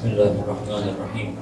Bismillahirrahmanirrahim.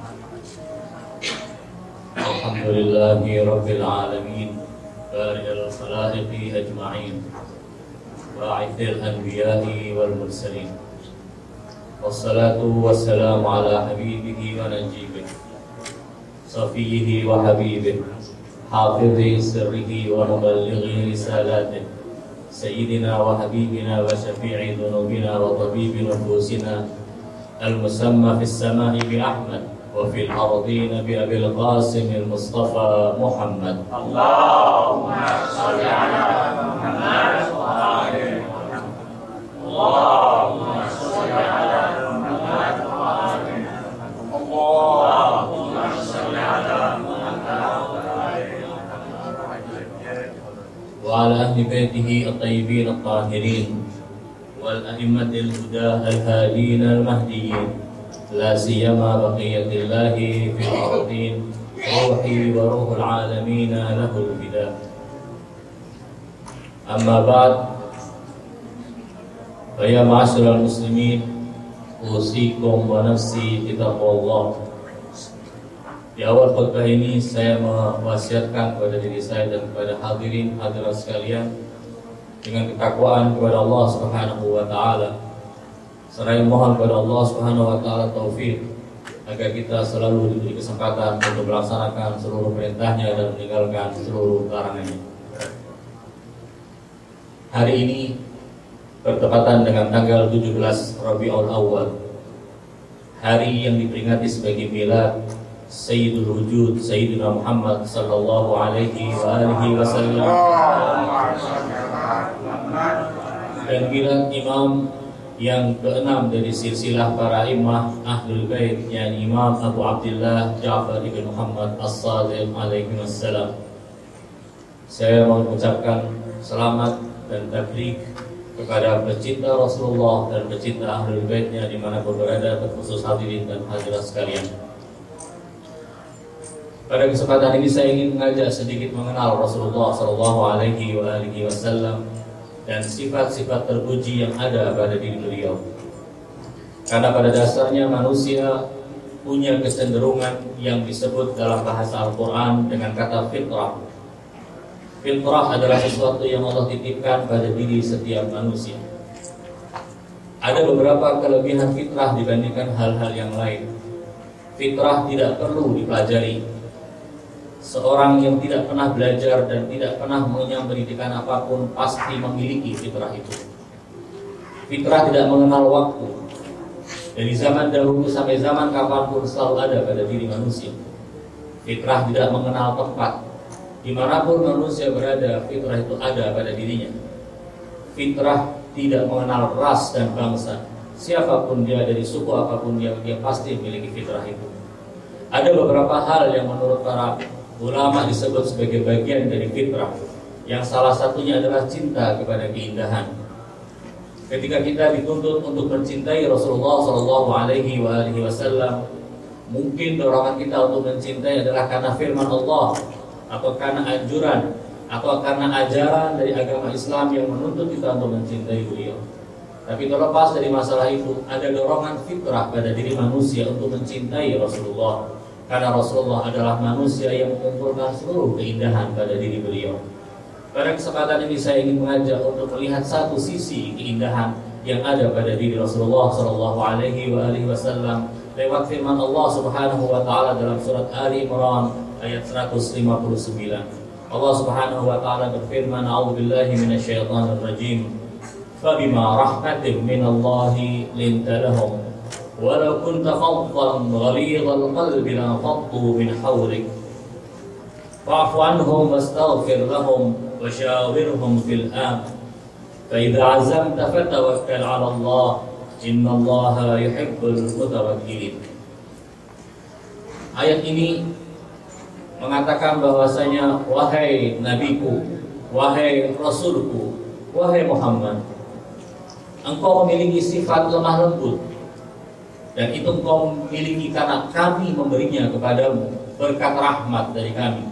Alhamdulillahi Rabbil Alamin, Bari'il Khalaiqi Ajma'in, Ba'ithil Anbiya'i wal Mursalin, Wassalatu wassalamu ala habibihi wa najibih, Safiyihi wa habibih, Hafidhi sirrihi wa muballighi risalatih, Sayyidina wa habibina wa syafi'i dhunubina wa tabibi nufusina, المسمى في السماء بأحمد وفي الأرضين بأبي القاسم المصطفى محمد. اللهم صل على محمد وآل محمد. اللهم صل على محمد وآل محمد. اللهم صل على محمد وآل محمد. وعلى أهل بيته الطيبين الطاهرين والأئمة الهدى الهادين المهديين، لا سيما بقية الله في الأرضين، روحي وروح العالمين له الفداء. أما بعد، فيا معاشر المسلمين، أوصيكم ونفسي بتقوى الله. Di awal khutbah ini saya mewasiatkan kepada diri saya dan kepada hadirin hadirat sekalian dengan ketakwaan kepada Allah Subhanahu wa taala. Seraya mohon kepada Allah Subhanahu wa taala taufik agar kita selalu diberi kesempatan untuk melaksanakan seluruh perintahnya dan meninggalkan seluruh larangannya. Hari ini bertepatan dengan tanggal 17 Rabiul Awal, hari yang diperingati sebagai milad Sayyidul Wujud Sayyidina Muhammad sallallahu alaihi wa alihi wasallam, dan milad imam yang keenam dari silsilah para imam Ahlul Bait, yakni Imam Abu Abdullah Ja'far ibn Muhammad As-Sadiq alaihi wassalam. Saya mengucapkan selamat dan tabrik kepada pecinta Rasulullah dan pecinta Ahlul Baitnya dimanapun berada, terkhusus hadirin dan hadirat sekalian. Pada kesempatan ini saya ingin mengajak sedikit mengenal Rasulullah sallallahu alaihi wasallam dan sifat-sifat terpuji yang ada pada diri beliau. Karena pada dasarnya manusia punya kecenderungan yang disebut dalam bahasa Al-Quran dengan kata fitrah. Fitrah adalah sesuatu yang Allah titipkan pada diri setiap manusia. Ada beberapa kelebihan fitrah dibandingkan hal-hal yang lain. Fitrah tidak perlu dipelajari. Seorang yang tidak pernah belajar dan tidak pernah mengenyam pendidikan apapun pasti memiliki fitrah itu. Fitrah tidak mengenal waktu. Dari zaman dahulu sampai zaman kapanpun selalu ada pada diri manusia. Fitrah tidak mengenal tempat. Dimanapun manusia berada, fitrah itu ada pada dirinya. Fitrah tidak mengenal ras dan bangsa. Siapapun dia, dari suku apapun dia pasti memiliki fitrah itu. Ada beberapa hal yang menurut para ulama disebut sebagai bagian dari fitrah, yang salah satunya adalah cinta kepada keindahan. Ketika kita dituntut untuk mencintai Rasulullah sallallahu alaihi wasallam, mungkin dorongan kita untuk mencintai adalah karena firman Allah, atau karena anjuran, atau karena ajaran dari agama Islam yang menuntut kita untuk mencintai beliau. Tapi terlepas dari masalah itu, ada dorongan fitrah pada diri manusia untuk mencintai Rasulullah. Karena Rasulullah adalah manusia yang mengumpulkan seluruh keindahan pada diri beliau. Pada kesempatan ini saya ingin mengajak untuk melihat satu sisi keindahan yang ada pada diri Rasulullah sallallahu alaihi wasallam lewat firman Allah Subhanahu wa taala dalam surat Ali Imran ayat 159. Allah Subhanahu wa taala berfirman, "A'udzubillahi minasyaitonir rajim. Fabima rahmatin minallahi linta lahum. Walau kunta faddan ghalidhal qalbi lanfaddu min hawlik. Fa'fu anhum wastaghfir lahum wa shawirhum fil amr. Fa idza 'azamta fatawakkal 'ala Allah. Innallaha yuhibbul mutawakkilin." Ayat ini mengatakan bahwasanya, wahai nabiku, wahai rasulku, wahai Muhammad, engkau memiliki sifat lemah lembut. Dan itu engkau miliki karena kami memberinya kepadamu berkat rahmat dari kami.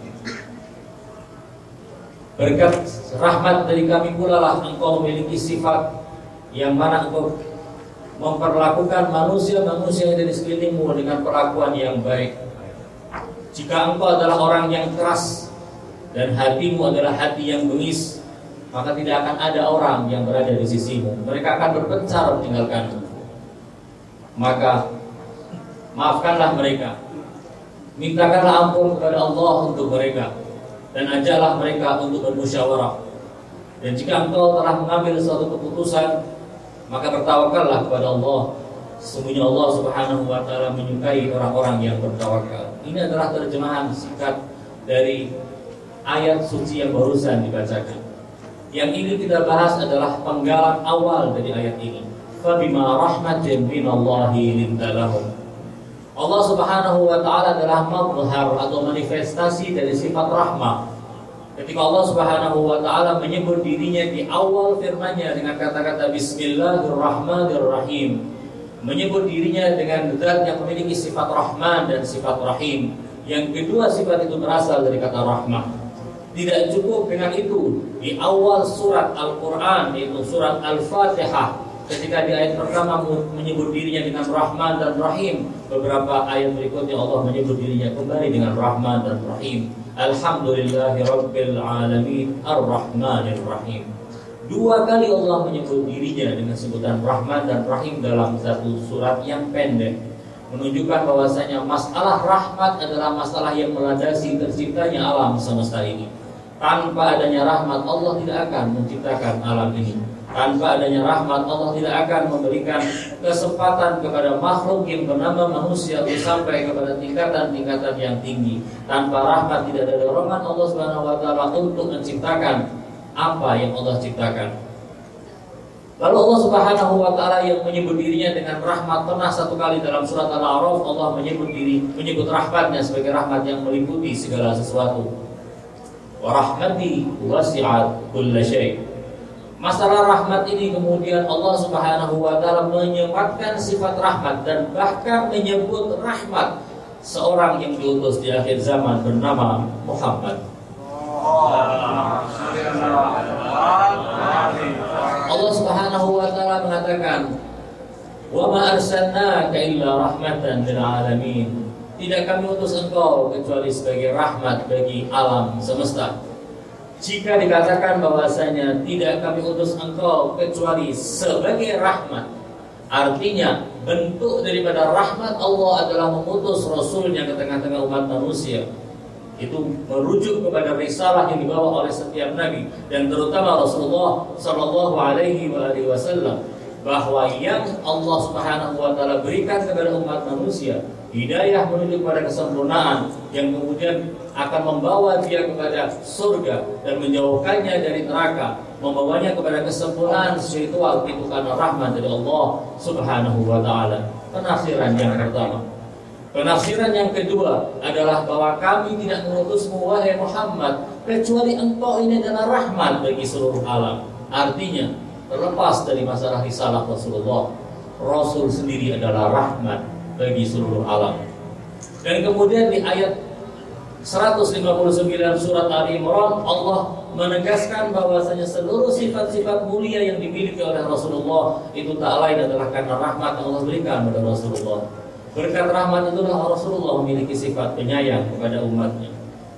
Berkat rahmat dari kami pula lah engkau memiliki sifat yang mana engkau memperlakukan manusia-manusia yang ada di sekelilingmu dengan perlakuan yang baik. Jika engkau adalah orang yang keras dan hatimu adalah hati yang bengis, maka tidak akan ada orang yang berada di sisimu. Mereka akan berpencar meninggalkanmu. Maka maafkanlah mereka, mintakanlah ampun kepada Allah untuk mereka, dan ajaklah mereka untuk bermusyawarah. Dan jika engkau telah mengambil suatu keputusan, maka bertawakallah kepada Allah. Sesungguhnya Allah Subhanahu wa ta'ala menyukai orang-orang yang bertawakal. Ini adalah terjemahan singkat dari ayat suci yang barusan dibacakan. Yang ini kita bahas adalah penggalan awal dari ayat ini. Fabima rahmatin minallahi lintalahum. Allah Subhanahu wa ta'ala adalah mazhar atau manifestasi dari sifat rahmah. Ketika Allah Subhanahu wa ta'ala menyebut dirinya di awal firman-Nya dengan kata-kata Bismillahirrahmanirrahim, menyebut dirinya dengan zat yang memiliki sifat Rahman dan sifat Rahim. Yang kedua sifat itu berasal dari kata rahmah. Tidak cukup dengan itu, di awal surat Al-Quran, yaitu surat Al-Fatihah, ketika di ayat pertama menyebut dirinya dengan Rahman dan Rahim, beberapa ayat berikutnya Allah menyebut dirinya kembali dengan Rahman dan Rahim. Alhamdulillahi Rabbil Alamin Ar-Rahmanir Rahim. Dua kali Allah menyebut dirinya dengan sebutan Rahman dan Rahim dalam satu surat yang pendek, menunjukkan bahwasanya masalah rahmat adalah masalah yang melandasi terciptanya alam semesta ini. Tanpa adanya rahmat Allah tidak akan menciptakan alam ini. Tanpa adanya rahmat Allah tidak akan memberikan kesempatan kepada makhluk yang bernama manusia untuk sampai kepada tingkatan-tingkatan yang tinggi. Tanpa rahmat tidak ada dorongan Allah Subhanahu wa ta'ala untuk menciptakan apa yang Allah ciptakan. Lalu Allah Subhanahu wa ta'ala yang menyebut dirinya dengan rahmat, pernah satu kali dalam surat Al-A'raf Allah menyebut rahmatnya sebagai rahmat yang meliputi segala sesuatu. Wa rahmati wasi'at kulla syai'. Masalah rahmat ini kemudian Allah Subhanahu wa ta'ala menyematkan sifat rahmat dan bahkan menyebut rahmat seorang yang diutus di akhir zaman bernama Muhammad. Allah Subhanahu wa ta'ala mengatakan, "Wa ma arsalnaka illa rahmatan lil alamin." Tidak kami utus engkau kecuali sebagai rahmat bagi alam semesta. Jika dikatakan bahwasanya tidak kami utus engkau kecuali sebagai rahmat, artinya bentuk daripada rahmat Allah adalah mengutus Rasulnya ke tengah-tengah umat manusia. Itu merujuk kepada risalah yang dibawa oleh setiap nabi dan terutama Rasulullah sallallahu alaihi wasallam, bahwa yang Allah Subhanahu wa ta'ala berikan kepada umat manusia hidayah menuju kepada kesempurnaan yang kemudian akan membawa dia kepada surga dan menjauhkannya dari neraka, membawanya kepada kesempurnaan spiritual, itu karena rahmat dari Allah Subhanahu wa ta'ala. Penafsiran yang pertama. Penafsiran yang kedua adalah bahwa kami tidak mengutusmu wahai Muhammad kecuali engkau ini adalah rahmat bagi seluruh alam. Artinya terlepas dari masalah risalah Rasulullah, Rasul sendiri adalah rahmat bagi seluruh alam. Dan kemudian di ayat 159 surat Ali Imran Allah menegaskan bahwasanya seluruh sifat-sifat mulia yang dimiliki oleh Rasulullah itu tak lain adalah karena rahmat yang Allah berikan kepada Rasulullah. Berkat rahmat itulah Rasulullah memiliki sifat penyayang kepada umatnya.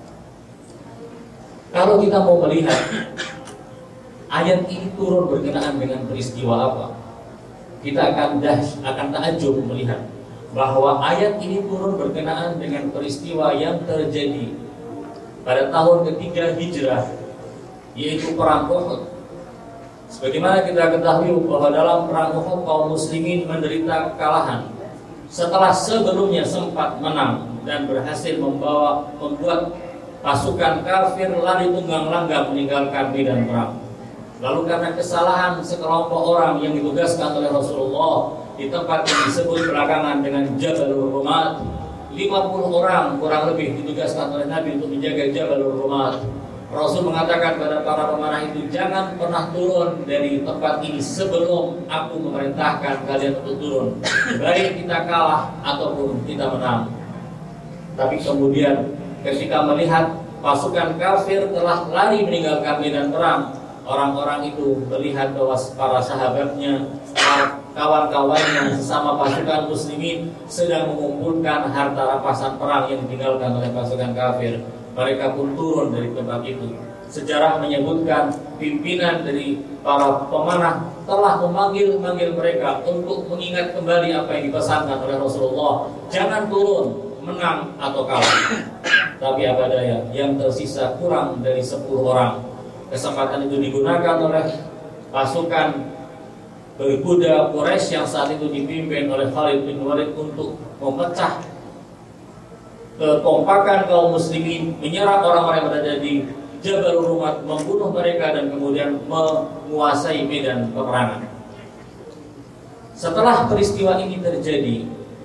Kalau kita mau melihat ayat ini turun berkenaan dengan peristiwa apa, kita akan takjub melihat bahwa ayat ini turun berkenaan dengan peristiwa yang terjadi pada tahun ketiga Hijrah, yaitu perang Uhud. Sebagaimana kita ketahui bahwa dalam perang Uhud kaum muslimin menderita kekalahan setelah sebelumnya sempat menang dan berhasil membuat pasukan kafir lari tunggang langgang meninggalkan medan perang. Lalu karena kesalahan sekelompok orang yang ditugaskan oleh Rasulullah di tempat yang disebut belakangan dengan Jabalur Rumat, 50 orang kurang lebih ditugaskan oleh Nabi untuk menjaga Jabalur Rumat. Rasul mengatakan kepada para pemanah itu, jangan pernah turun dari tempat ini sebelum aku memerintahkan kalian untuk turun, baik kita kalah ataupun kita menang. Tapi kemudian ketika melihat pasukan kafir telah lari meninggalkan medan perang, orang-orang itu melihat bahwa para sahabatnya, para kawan-kawannya sesama pasukan muslimin sedang mengumpulkan harta rampasan perang yang ditinggalkan oleh pasukan kafir. Mereka pun turun dari tempat itu. Sejarah menyebutkan pimpinan dari para pemanah telah memanggil mereka untuk mengingat kembali apa yang dipesankan oleh Rasulullah. Jangan turun, menang atau kalah. Tapi apa daya, yang tersisa kurang dari 10 orang. Kesempatan itu digunakan oleh pasukan berkuda Quraisy yang saat itu dipimpin oleh Khalid bin Walid untuk memecah kekompakan kaum muslimin, menyerang orang-orang yang berada di Jabal Rumat, membunuh mereka dan kemudian menguasai medan peperangan. Setelah peristiwa ini terjadi,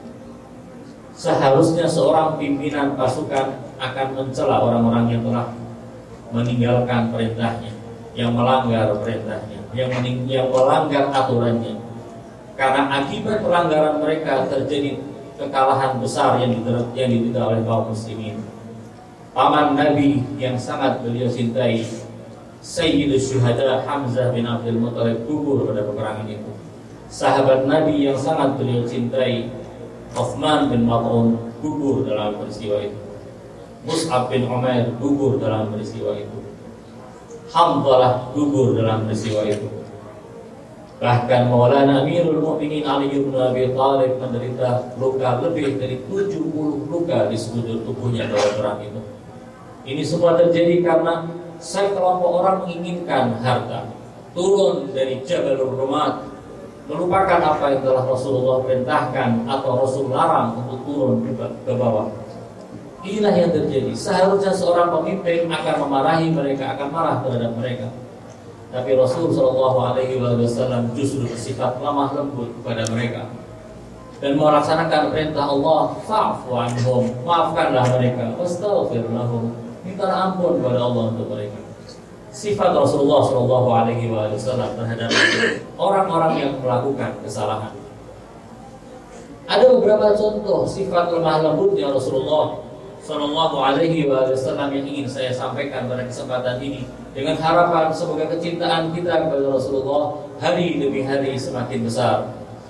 seharusnya seorang pimpinan pasukan akan mencela orang-orang yang telah meninggalkan perintahnya, yang melanggar perintahnya, yang melanggar aturannya. Karena akibat pelanggaran mereka terjadi kekalahan besar yang diderita oleh kaum muslimin. Paman Nabi yang sangat beliau cintai, Sayyidus Syuhada Hamzah bin Abdul Muttalib, gugur pada peperangan itu. Sahabat Nabi yang sangat beliau cintai, Uthman bin Maz'un, gugur dalam peristiwa itu. Mus'ab bin Umair gugur dalam peristiwa itu. Hamzalah gugur dalam peristiwa itu. Bahkan Maulana Amirul Mukminin Ali bin Abi Thalib menderita luka lebih dari 70 luka di sekujur tubuhnya dalam perang itu. Ini semua terjadi karena sekelompok orang menginginkan harta, turun dari Jabalur Rumat, melupakan apa yang telah Rasulullah perintahkan atau Rasul larang untuk turun ke bawah. Inilah yang terjadi. Seharusnya seorang pemimpin akan memarahi mereka, akan marah terhadap mereka. Tapi Rasul SAW justru bersifat lemah lembut kepada mereka dan melaksanakan perintah Allah, fa'fu anhum, maafkanlah mereka, wastaghfir lahum, mintalah ampun kepada Allah untuk mereka. Sifat Rasulullah SAW terhadap orang-orang yang melakukan kesalahan. Ada beberapa contoh sifat lemah lembutnya Rasulullah SAW yang ingin saya sampaikan pada kesempatan ini, dengan harapan semoga kecintaan kita kepada Rasulullah hari demi hari semakin besar.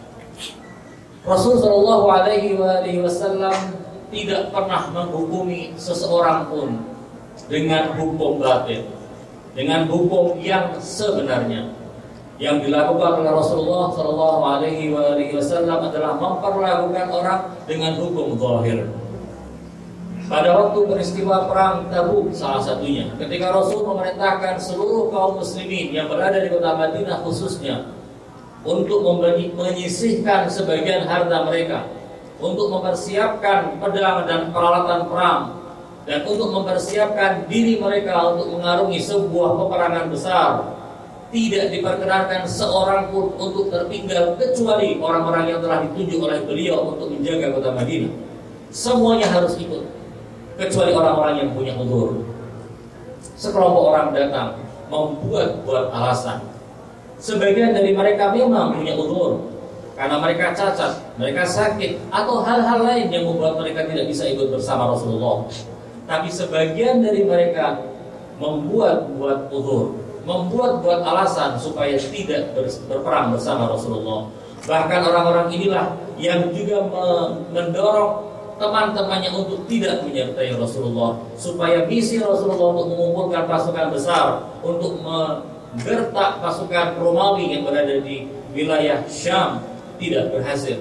Rasulullah SAW tidak pernah menghukumi seseorang pun dengan hukum batil, dengan hukum yang sebenarnya. Yang dilakukan oleh Rasulullah SAW adalah memperlakukan orang dengan hukum zahir. Pada waktu peristiwa perang Tabuk salah satunya, ketika Rasul memerintahkan seluruh kaum muslimin yang berada di kota Madinah khususnya untuk menyisihkan sebagian harta mereka, untuk mempersiapkan pedang dan peralatan perang, dan untuk mempersiapkan diri mereka untuk mengarungi sebuah peperangan besar. Tidak diperkenankan seorang pun untuk tertinggal kecuali orang-orang yang telah ditunjuk oleh beliau untuk menjaga kota Madinah. Semuanya harus ikut, kecuali orang-orang yang punya uzur. Sekelompok orang datang membuat alasan. Sebagian dari mereka memang punya uzur, karena mereka cacat, mereka sakit, atau hal-hal lain yang membuat mereka tidak bisa ikut bersama Rasulullah. Tapi sebagian dari mereka membuat uzur, membuat alasan supaya tidak berperang bersama Rasulullah. Bahkan orang-orang inilah yang juga mendorong teman-temannya untuk tidak menyertai Rasulullah, supaya misi Rasulullah untuk mengumpulkan pasukan besar untuk menggertak pasukan Romawi yang berada di wilayah Syam tidak berhasil.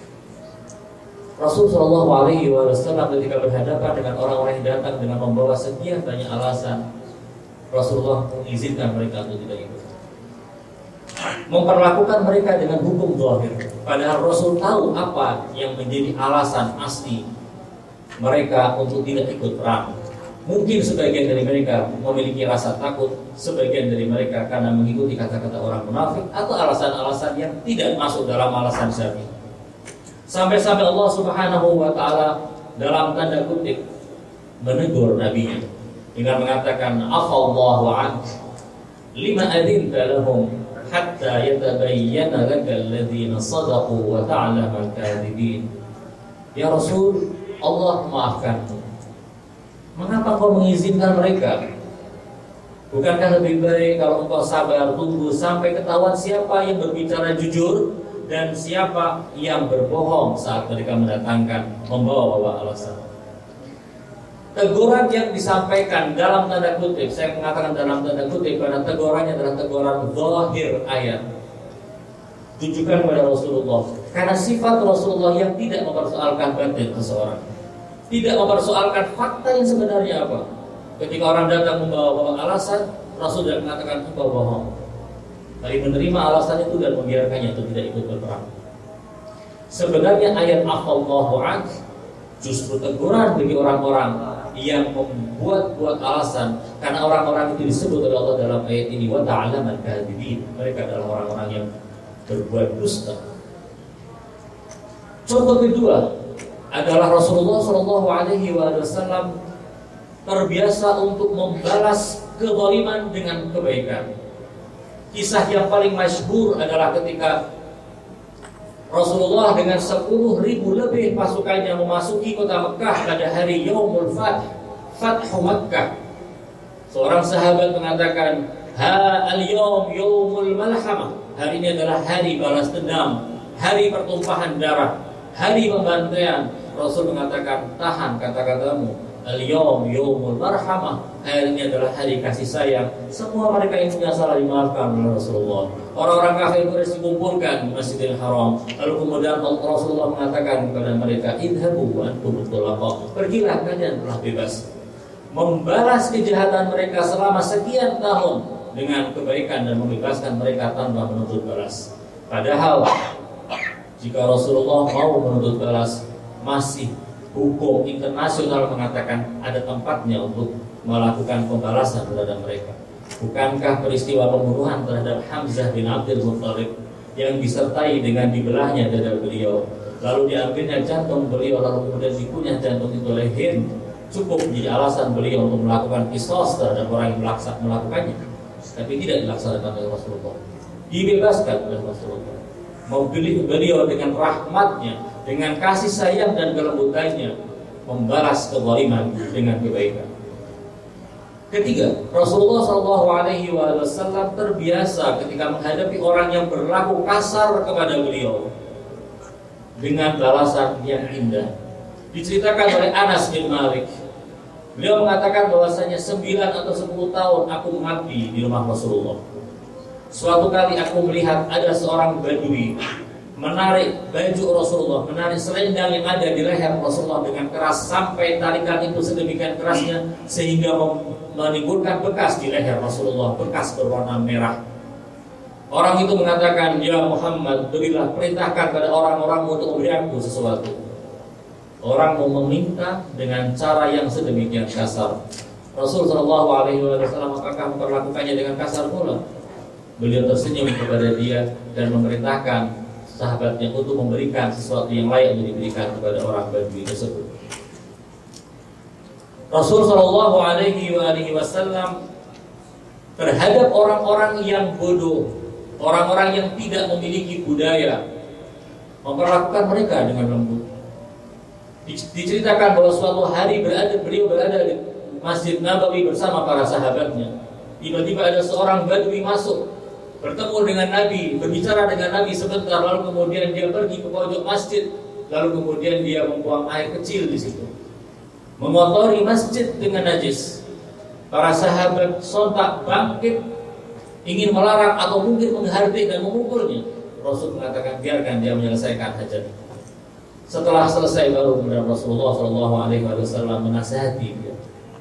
Rasulullah SAW ketika berhadapan dengan orang-orang yang datang dengan membawa sekian banyak alasan, Rasulullah mengizinkan mereka untuk tidak ikut, memperlakukan mereka dengan hukum zahir. Padahal Rasul tahu apa yang menjadi alasan asli mereka untuk tidak ikut perang. Mungkin sebagian dari mereka memiliki rasa takut, sebagian dari mereka karena mengikuti kata-kata orang munafik, atau alasan-alasan yang tidak masuk dalam alasan syar'i. Sampai-sampai Allah Subhanahu wa Ta'ala dalam tanda kutip menegur nabinya dengan mengatakan, afallahu anhu lima adzinta lahum hatta yatabayyana lakal ladzina shadaqu wa ta'lamal kadzibin. Ya Rasul, Allah maafkanmu. Mengapa kau mengizinkan mereka? Bukankah lebih baik kalau engkau sabar tunggu sampai ketahuan siapa yang berbicara jujur dan siapa yang berbohong saat mereka membawa alasan. Teguran yang disampaikan dalam tanda kutip, saya mengatakan dalam tanda kutip karena tegurannya adalah teguran zahir ayat, tujukan kepada Rasulullah. Karena sifat Rasulullah yang tidak mempersoalkan batin seseorang, tidak mempersoalkan fakta yang sebenarnya apa. Ketika orang datang membawa alasan, Rasul tidak mengatakan engkau bohong, tapi menerima alasan itu dan membiarkannya itu tidak ikut berperang. Sebenarnya ayat afallahu ank justru teguran bagi orang-orang yang membuat alasan, karena orang-orang itu disebut oleh Allah dalam ayat ini wa ta'lamal kadhibin, mereka adalah orang-orang yang berbuat dusta. Contoh kedua adalah Rasulullah SAW terbiasa untuk membalas kezaliman dengan kebaikan. Kisah yang paling masyhur adalah ketika Rasulullah dengan 10.000 lebih pasukannya memasuki kota Mekah pada hari Yaumul Fathu Makkah. Seorang sahabat mengatakan, "Ha al-yawm yaumul malhamah." Hari ini adalah hari balas dendam, hari pertumpahan darah, hari pembantaian. Rasul mengatakan, "Tahan kata-katamu. Al-yawm yaumul marhamah." Hari ini adalah hari kasih sayang. Semua mereka yang punya salah dimaafkan oleh Rasulullah. Orang-orang kafir Quraisy dikumpulkan di Masjidil Haram. Lalu kemudian Rasulullah mengatakan kepada mereka, "Idhabu wa antum thulaqa." Pergilah, kalian telah bebas. Membalas kejahatan mereka selama sekian tahun dengan kebaikan dan membebaskan mereka tanpa menuntut balas. Padahal jika Rasulullah mau menuntut balas, masih hukum internasional mengatakan ada tempatnya untuk melakukan pembalasan terhadap mereka. Bukankah peristiwa pembunuhan terhadap Hamzah bin Abdul Muttalib yang disertai dengan dibelahnya dada beliau, lalu diambilnya jantung beliau, lalu kemudian dikunyah jantung itu oleh Hind, cukup menjadi alasan beliau untuk melakukan qisas terhadap orang yang melakukannya? Tapi tidak dilaksanakan oleh Rasulullah, dibebaskan oleh Rasulullah. Memilih beliau dengan rahmatnya, dengan kasih sayang dan kelembutannya, membalas kezaliman dengan kebaikan. Ketiga, Rasulullah SAW terbiasa ketika menghadapi orang yang berlaku kasar kepada beliau dengan balasan yang indah. Diceritakan oleh Anas bin Malik, beliau mengatakan bahwasanya 9 atau 10 tahun aku mengabdi di rumah Rasulullah. Suatu kali aku melihat ada seorang Badui menarik baju Rasulullah, menarik selendang yang ada di leher Rasulullah dengan keras, sampai tarikan itu sedemikian kerasnya sehingga menimbulkan bekas di leher Rasulullah, bekas berwarna merah. Orang itu mengatakan, "Ya Muhammad, berilah, perintahkan pada orang-orangmu untuk memberi aku sesuatu." Orang mau meminta dengan cara yang sedemikian kasar. Rasul SAW apakah memperlakukannya dengan kasar pula? Beliau tersenyum kepada dia dan memerintahkan sahabatnya untuk memberikan sesuatu yang layak untuk diberikan kepada orang Badui tersebut. Rasul SAW terhadap orang-orang yang bodoh, orang-orang yang tidak memiliki budaya, memperlakukan mereka dengan lembut. Diceritakan bahwa suatu hari beliau berada di Masjid Nabawi bersama para sahabatnya. Tiba-tiba ada seorang Badui masuk, bertemu dengan Nabi, berbicara dengan Nabi sebentar, lalu kemudian dia pergi ke pojok masjid, lalu kemudian dia membuang air kecil di situ, mengotori masjid dengan najis. Para sahabat sontak bangkit, ingin melarang atau mungkin menghardik dan memukulnya. Rasul mengatakan, biarkan dia menyelesaikan hajat. Setelah selesai baru kemudian Rasulullah SAW menasihati dia.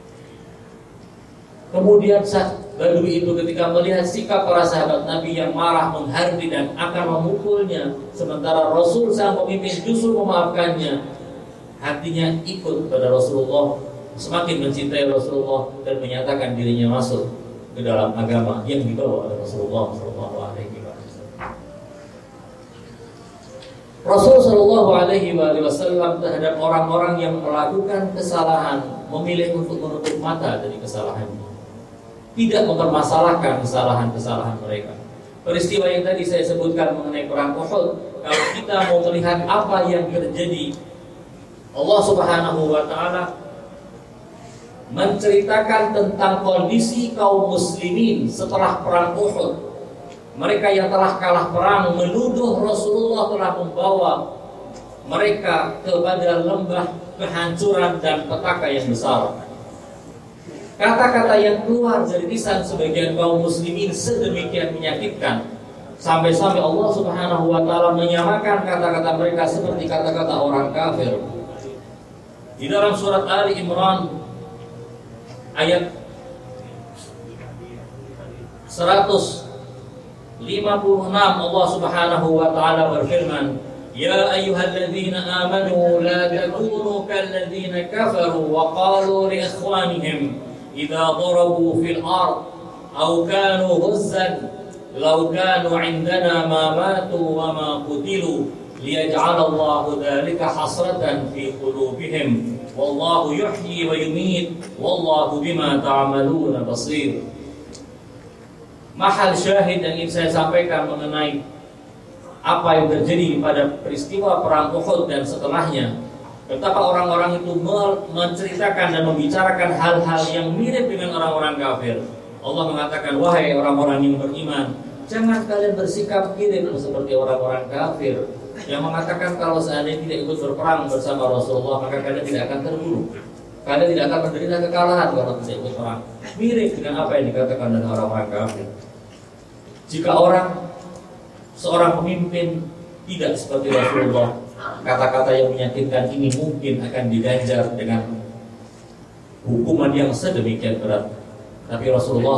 Kemudian Badui itu ketika melihat sikap para sahabat Nabi yang marah, menghardik dan akan memukulnya, sementara Rasul sang pemimpin justru memaafkannya, hatinya ikut pada Rasulullah, semakin mencintai Rasulullah dan menyatakan dirinya masuk ke dalam agama yang dibawa oleh Rasulullah SAW. Rasul SAW terhadap orang-orang yang melakukan kesalahan memilih untuk menutup mata dari kesalahannya, tidak mempermasalahkan kesalahan-kesalahan mereka. Peristiwa yang tadi saya sebutkan mengenai perang Uhud, kalau kita mau melihat apa yang terjadi, Allah Subhanahu wa Ta'ala menceritakan tentang kondisi kaum muslimin setelah perang Uhud, mereka yang telah kalah perang menuduh Rasulullah telah membawa mereka kepada lembah kehancuran dan petaka yang besar. Kata-kata yang keluar dari lisan sebagian kaum muslimin sedemikian menyakitkan, sampai-sampai Allah Subhanahu wa taala menyamakan kata-kata mereka seperti kata-kata orang kafir. Di dalam surat Ali Imran ayat 156 Allah Subhanahu wa taala berfirman, "Ya ayyuhalladzina amanu la takunu kalladzina kafaru wa qalu li ikhwanihim idza darabu fil ard aw kanu ghazzan law kanu 'indana ma matu wa ma qutilu liyaj'ala Allahu dzalika hasratan fi qulubihim wallahu yuhyi wa yumiit wallahu bima ta'maluna basir." Mahal syahid yang ingin saya sampaikan mengenai apa yang terjadi pada peristiwa perang Uhud dan setelahnya, betapa orang-orang itu menceritakan dan membicarakan hal-hal yang mirip dengan orang-orang kafir. Allah mengatakan, wahai orang-orang yang beriman, jangan kalian bersikap mirip seperti orang-orang kafir yang mengatakan kalau seandainya tidak ikut berperang bersama Rasulullah maka kalian tidak akan terbunuh, kalian tidak akan menderita kekalahan kalau tidak ikut perang. Mirip dengan apa yang dikatakan oleh orang-orang kafir. Jika seorang pemimpin tidak seperti Rasulullah, kata-kata yang menyakitkan ini mungkin akan diganjar dengan hukuman yang sedemikian berat. Tapi Rasulullah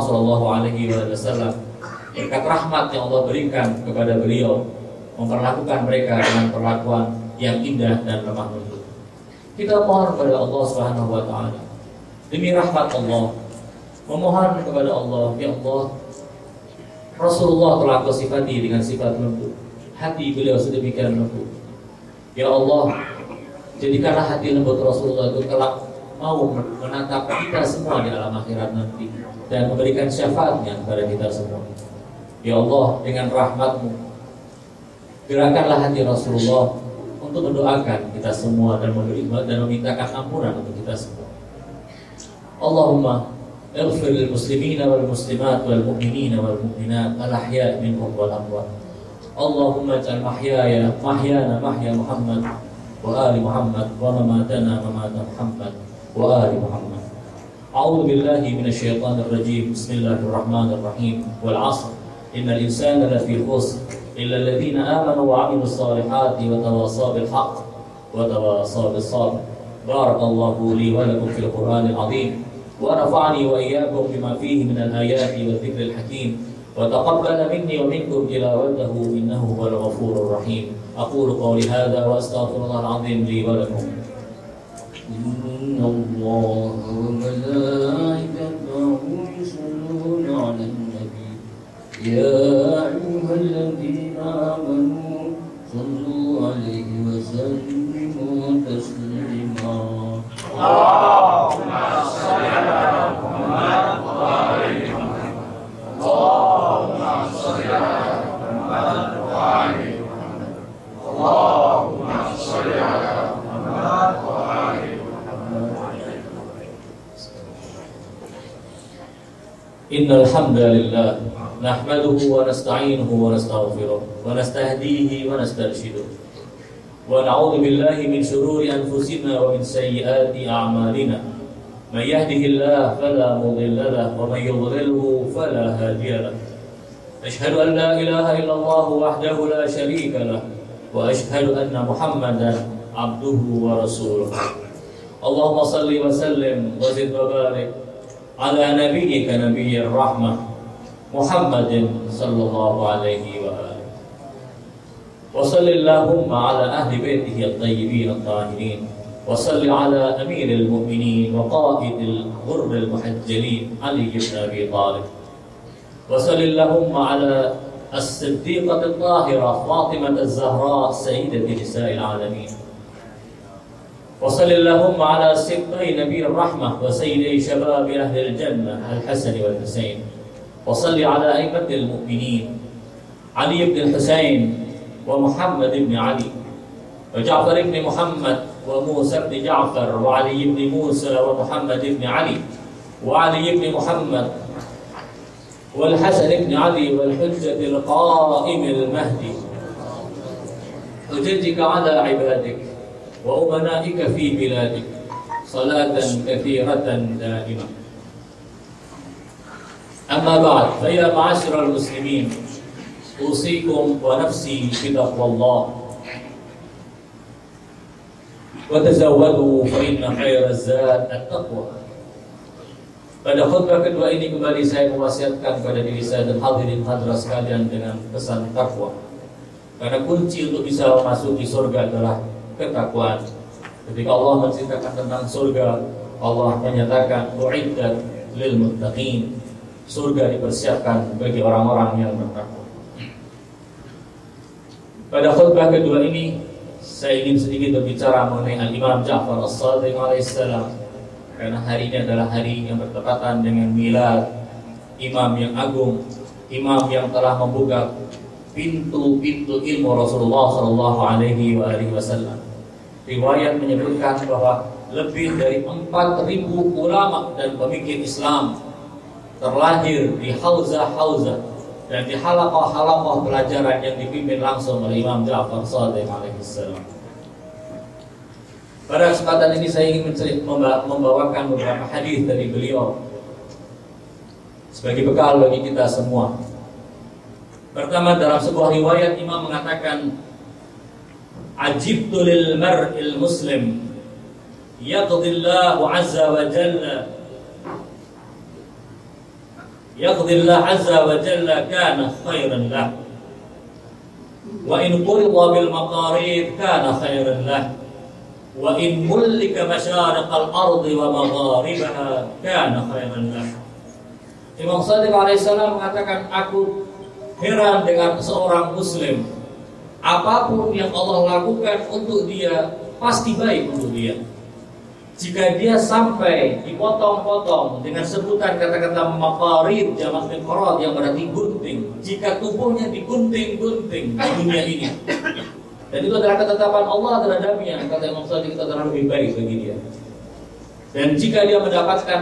SAW berkat rahmat yang Allah berikan kepada beliau, memperlakukan mereka dengan perlakuan yang indah dan lemah lembut. Kita mohon kepada Allah Subhanahu wa taala demi rahmat Allah, memohon kepada Allah, ya Allah, Rasulullah telah kau sifati dengan sifat lembut, hati beliau sedemikian lembut. Ya Allah, jadikanlah hati lembut Rasulullah itu kelak mau menatap kita semua di alam akhirat nanti dan memberikan syafaatnya kepada kita semua. Ya Allah, dengan rahmat-Mu gerakanlah hati Rasulullah untuk mendoakan kita semua dan memintakan ampunan untuk kita semua. Allahumma اغفر للمسلمين والمسلمات والمؤمنين والمؤمنات الأحياء منهم والأموات. اللهم اجعل محيانا محيا محمد وآل محمد ومماتنا ممات محمد وآل محمد. أعوذ بالله من الشيطان الرجيم. بسم الله الرحمن الرحيم. والعصر إن الإنسان لفي خسر إلا الذين آمنوا وعملوا الصالحات وتواصوا بالحق وتواصوا بالصبر. بارك الله لي ولكم في القرآن العظيم ونفعني وإياكم بما فيه من الآيات والذكر الحكيم وتقبل مني ومنكم تلاوته إنه هو الغفور الرحيم. أقول قولي هذا وأستغفر الله العظيم لي ولكم. إن الله وملائكته يصلون على النبي يا أيها الذين آمنوا صلوا عليه وسلموا تسليما. اللهم صل على محمد وآل محمد. اللهم صل على محمد وآل محمد. اللهم صل على محمد وآل محمد. إن الحمد لله نحمده ونستعينه ونستغفره ونستهديه ونسترشده ونعوذ بالله من شرور أنفسنا ومن سيئات أعمالنا. من يهده الله فلا مضل له ومن يضلله فلا هادي له. أشهد أن لا إله إلا الله وحده لا شريك له وأشهد أن محمدا عبده ورسوله. اللهم صل وسلم وزد وبارك على نبيك نبي الرحمة محمد صلى الله عليه وآله. وصل اللهم على أهل بيته الطيبين الطاهرين. وصل على أمير المؤمنين وقائد الغر المحجلين علي بن أبي طالب. وصل اللهم على الصديقة الطاهرة فاطمة الزهراء سيدة نساء العالمين. وصل اللهم على سبطي نبي الرحمة وسيدي شباب أهل الجنة الحسن والحسين. وصل على أئمة المؤمنين علي بن الحسين ومحمد بن علي وجعفر بن محمد وموسى بن جعفر وعلي بن موسى ومحمد بن علي وعلي بن محمد والحسن بن علي والحجة القائم المهدي حججك على عبادك وأمنائك في بلادك صلاة كثيرة دائمة. أما بعد، فيا معاشر المسلمين، أوصيكم ونفسي بتقوى الله، وتزودوا فإن خير الزاد التقوى. Pada khutbah kedua ini kembali saya mewasiatkan kepada diri saya dan hadirin hadirat sekalian dengan pesan takwa. Karena kunci untuk bisa memasuki surga adalah ketakwaan. Ketika Allah menceritakan tentang surga, Allah menyatakan u'iddat lil muttaqin. Surga dipersiapkan bagi orang-orang yang bertakwa. Pada khutbah kedua ini saya ingin sedikit berbicara mengenai Al-Imam Ja'far As-Shadiq alaihissalam. Karena hari ini adalah hari yang bertepatan dengan milad imam yang agung, imam yang telah membuka pintu-pintu ilmu Rasulullah sallallahu alaihi wasallam. Riwayat menyebutkan bahwa lebih dari 4.000 ulama dan pemikir Islam terlahir di hauzah-hauzah dan di halaqah-halaqah pelajaran yang dipimpin langsung oleh Imam Ja'far Shadiq alaihissalam. Pada kesempatan ini saya ingin membawakan beberapa hadis dari beliau sebagai bekal bagi kita semua. Pertama, dalam sebuah riwayat Imam mengatakan, "Ajibtu lil mar'il muslim yaqdillahu azza wa jalla kana khairan lah wa in qurida bil maqarid kana khairan lah wa in mulika masyariqal ardi wa magharibaha kana khairan lah." Imam Shadiq alaihissalam mengatakan, aku heran dengan seorang muslim, apapun yang Allah lakukan untuk dia pasti baik untuk dia. Jika dia sampai dipotong-potong dengan sebutan kata-kata maqarid jamak miqrad yang berarti gunting, jika tubuhnya digunting-gunting di dunia ini, dan itu adalah ketetapan Allah terhadapnya, kata Imam Shadiq, itu adalah lebih baik bagi dia. Dan jika dia mendapatkan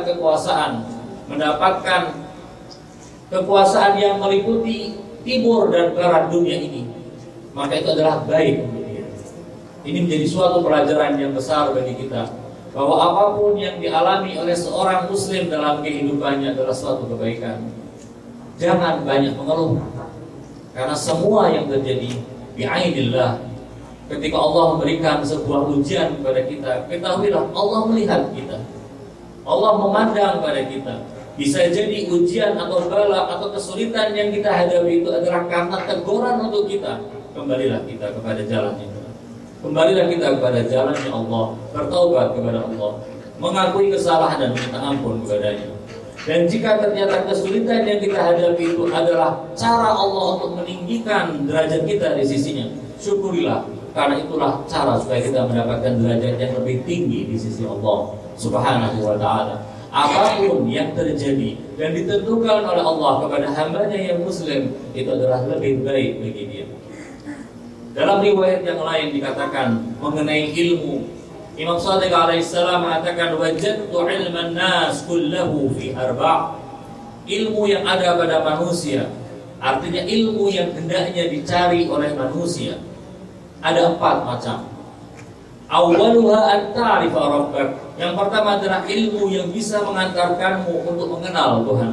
kekuasaan yang meliputi timur dan barat dunia ini, maka itu adalah baik untuk dia. Ini menjadi suatu pelajaran yang besar bagi kita, bahwa apapun yang dialami oleh seorang muslim dalam kehidupannya adalah suatu kebaikan. Jangan banyak mengeluh, karena semua yang terjadi bi'ainillah. Ketika Allah memberikan sebuah ujian kepada kita, ketahuilah Allah melihat kita, Allah memandang pada kita. Bisa jadi ujian atau bala atau kesulitan yang kita hadapi itu adalah karena teguran untuk kita. Kembalilah kita kepada jalannya. Kembalilah kita kepada jalannya Allah, bertaubat kepada Allah, mengakui kesalahan dan minta ampun kepadanya. Dan jika ternyata kesulitan yang kita hadapi itu adalah cara Allah untuk meninggikan derajat kita di sisinya, syukurilah, karena itulah cara supaya kita mendapatkan derajat yang lebih tinggi di sisi Allah Subhanahu wa ta'ala. Apapun yang terjadi dan ditentukan oleh Allah kepada hambanya yang muslim, itu adalah lebih baik bagi dia. Dalam riwayat yang lain dikatakan mengenai ilmu, Imam Shadiq alaihissalam mengatakan, wajadtu ilman nas kullahu fi arba'. Ilmu yang ada pada manusia, artinya ilmu yang hendaknya dicari oleh manusia, ada 4 macam. Awwaluha an ta'rifa rabbak. Yang pertama adalah ilmu yang bisa mengantarkanmu untuk mengenal Tuhan.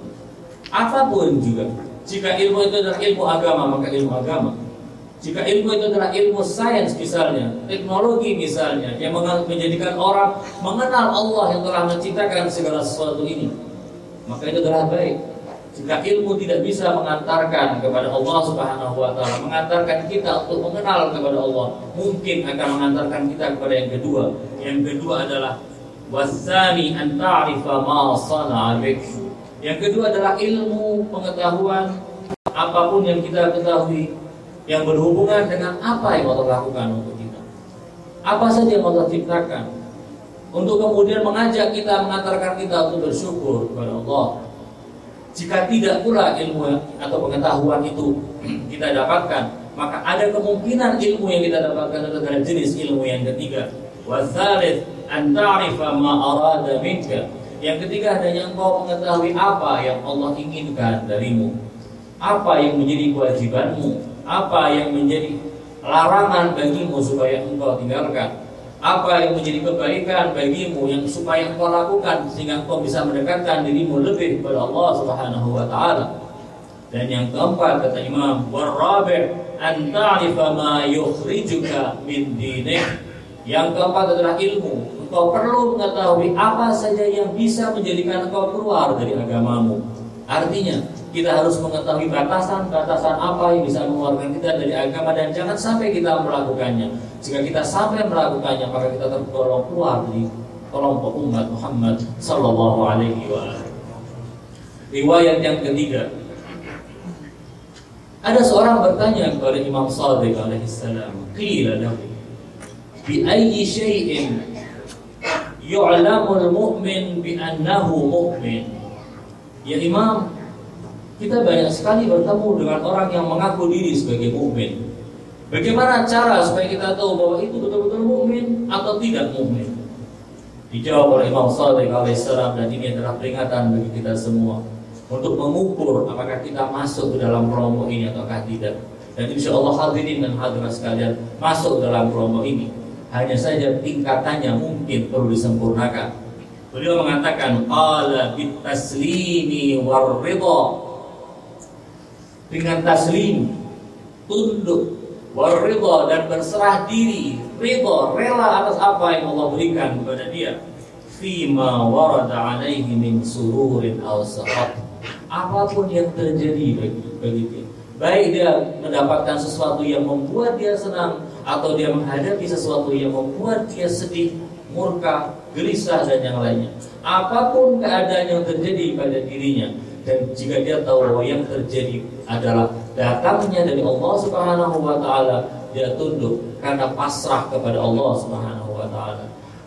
Apapun juga, jika ilmu itu adalah ilmu agama, maka ilmu agama. Jika ilmu itu adalah ilmu sains misalnya, teknologi misalnya, yang menjadikan orang mengenal Allah yang telah menciptakan segala sesuatu ini, maka itu adalah baik. Jika ilmu tidak bisa mengantarkan kepada Allah Subhanahu wa ta'ala, mengantarkan kita untuk mengenal kepada Allah, mungkin akan mengantarkan kita kepada yang kedua. Yang kedua adalah wasani an ta'rifa ma sana'a bik. Yang kedua adalah ilmu pengetahuan apapun yang kita ketahui yang berhubungan dengan apa yang Allah lakukan untuk kita. Apa saja yang Allah ciptakan, untuk kemudian mengajak kita, mengantarkan kita untuk bersyukur kepada Allah. Jika tidak pula ilmu atau pengetahuan itu kita dapatkan, maka ada kemungkinan ilmu yang kita dapatkan adalah jenis ilmu yang ketiga. Wa tsalits an ta'rifa ma arada minka. Yang ketiga, adanya engkau mengetahui apa yang Allah inginkan darimu, apa yang menjadi kewajibanmu, apa yang menjadi larangan bagimu supaya engkau tinggalkan, apa yang menjadi kebaikan bagimu yang supaya engkau lakukan sehingga engkau bisa mendekatkan dirimu lebih kepada Allah Subhanahu wa taala. Dan yang keempat, kata Imam, warabi' an ta'rifa ma yukhrijuka min dinik. Yang keempat adalah ilmu. Engkau perlu mengetahui apa saja yang bisa menjadikan engkau keluar dari agamamu. Artinya, kita harus mengetahui batasan-batasan apa yang bisa mengeluarkan kita dari agama, dan jangan sampai kita melakukannya. Jika kita sampai melakukannya, maka kita tergolong keluar dari kelompok umat Muhammad sallallahu alaihi wasallam. Riwayat yang ketiga, ada seorang bertanya kepada Imam Shadiq alaihi salam, qila lahu bi ayyi syai'in yu'lamul mu'min bi annahu mu'min. Ya Imam, kita banyak sekali bertemu dengan orang yang mengaku diri sebagai mukmin. Bagaimana cara supaya kita tahu bahwa itu betul-betul mukmin atau tidak mukmin? Dijawab oleh Imam Shadiq alaihissalam, dan ini adalah peringatan bagi kita semua untuk mengukur apakah kita masuk ke dalam kelompok ini ataukah tidak. Dan insya Allah hadirin dan hadirat sekalian masuk dalam kelompok ini. Hanya saja tingkatannya mungkin perlu disempurnakan. Beliau mengatakan qala bit taslimi war ridha, dengan taslim, tunduk, war ridha, dan berserah diri, ridha, rela atas apa yang Allah berikan kepada dia, fima warada alaihi min sururin aw saqat, apapun yang terjadi bagi dia, baik dia mendapatkan sesuatu yang membuat dia senang atau dia menghadapi sesuatu yang membuat dia sedih, murka, gelisah, dan yang lainnya, apapun keadaan yang terjadi pada dirinya, dan jika dia tahu bahwa yang terjadi adalah datangnya dari Allah Subhanahu wa taala, dia tunduk karena pasrah kepada Allah Subhanahu wa taala.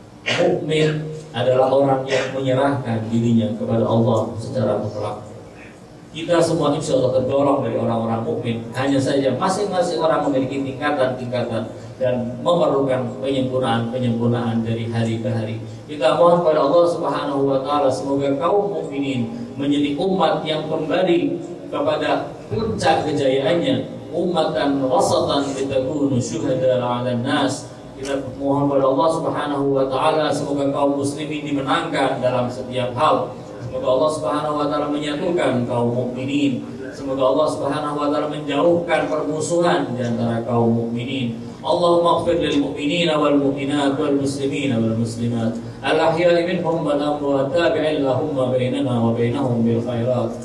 Mukmin adalah orang yang menyerahkan dirinya kepada Allah secara mutlak. Kita semua insya Allah tergolong dari orang-orang mukmin. Hanya saja masing-masing orang memiliki tingkatan-tingkatan dan memerlukan penyempurnaan dari hari ke hari. Kita mohon kepada Allah Subhanahu wa taala, semoga kaum mukminin menjadi umat yang kembali kepada puncak kejayaannya, ummatan wasatan litakunu syuhada 'alan nas. Kita mohon kepada Allah Subhanahu wa taala, semoga kaum muslimin dimenangkan dalam setiap hal. Semoga Allah Subhanahu wa taala menyatukan kaum mukminin. Semoga Allah Subhanahu wa taala menjauhkan permusuhan di antara kaum mukminin. Allahumma ighfir lil mu'minina wal mu'minat wal muslimina wal muslimat al ahya'i minhum wal amwat, tabi'il lahumma bainana wa bainahum bil khairat.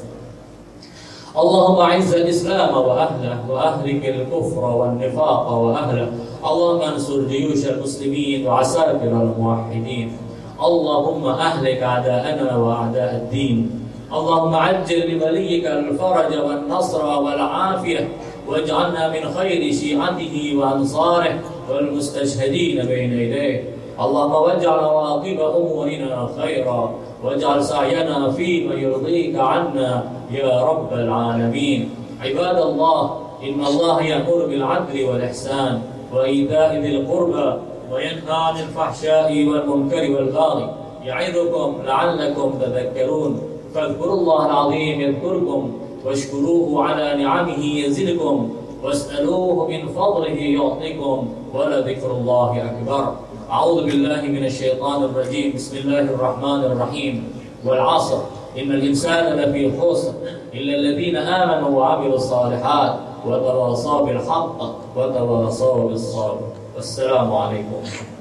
Allahumma a'izzal islam wa ahlahu wa ahlikil kufra wan nifaqa wa ahlahu. Allahumma ansur juyushal muslimin wa asabiral muwahhidin. Allahumma ahlik a'da'ana wa a'da'ad din. Allahumma ajjil li waliyyika al-faraj wan nasra wal 'afiyah waj'alna min khairi syi'atihi wa ansarihi wal mustashhadin baina yadayhi. Allahumma waj'al awaqiba umurina khaira waj'al sa'yana fi ma yurdika 'anna ya rabbal 'alamin. Ibadallah, inna Allah ya'muru bil 'adli wal ihsan wa ita'i dhil qurba وينهى عن الفحشاء والمنكر والبغي يعظكم لعلكم تذكرون فاذكروا الله العظيم يذكركم واشكروه على نعمه يزدكم واسألوه من فضله يعطيكم ولذكر الله أكبر. أعوذ بالله من الشيطان الرجيم. بسم الله الرحمن الرحيم. والعصر إن الإنسان لفي خسر إلا الذين آمنوا وعملوا الصالحات وتواصوا بالحق وتواصوا بالصبر. Wassalamualaikum.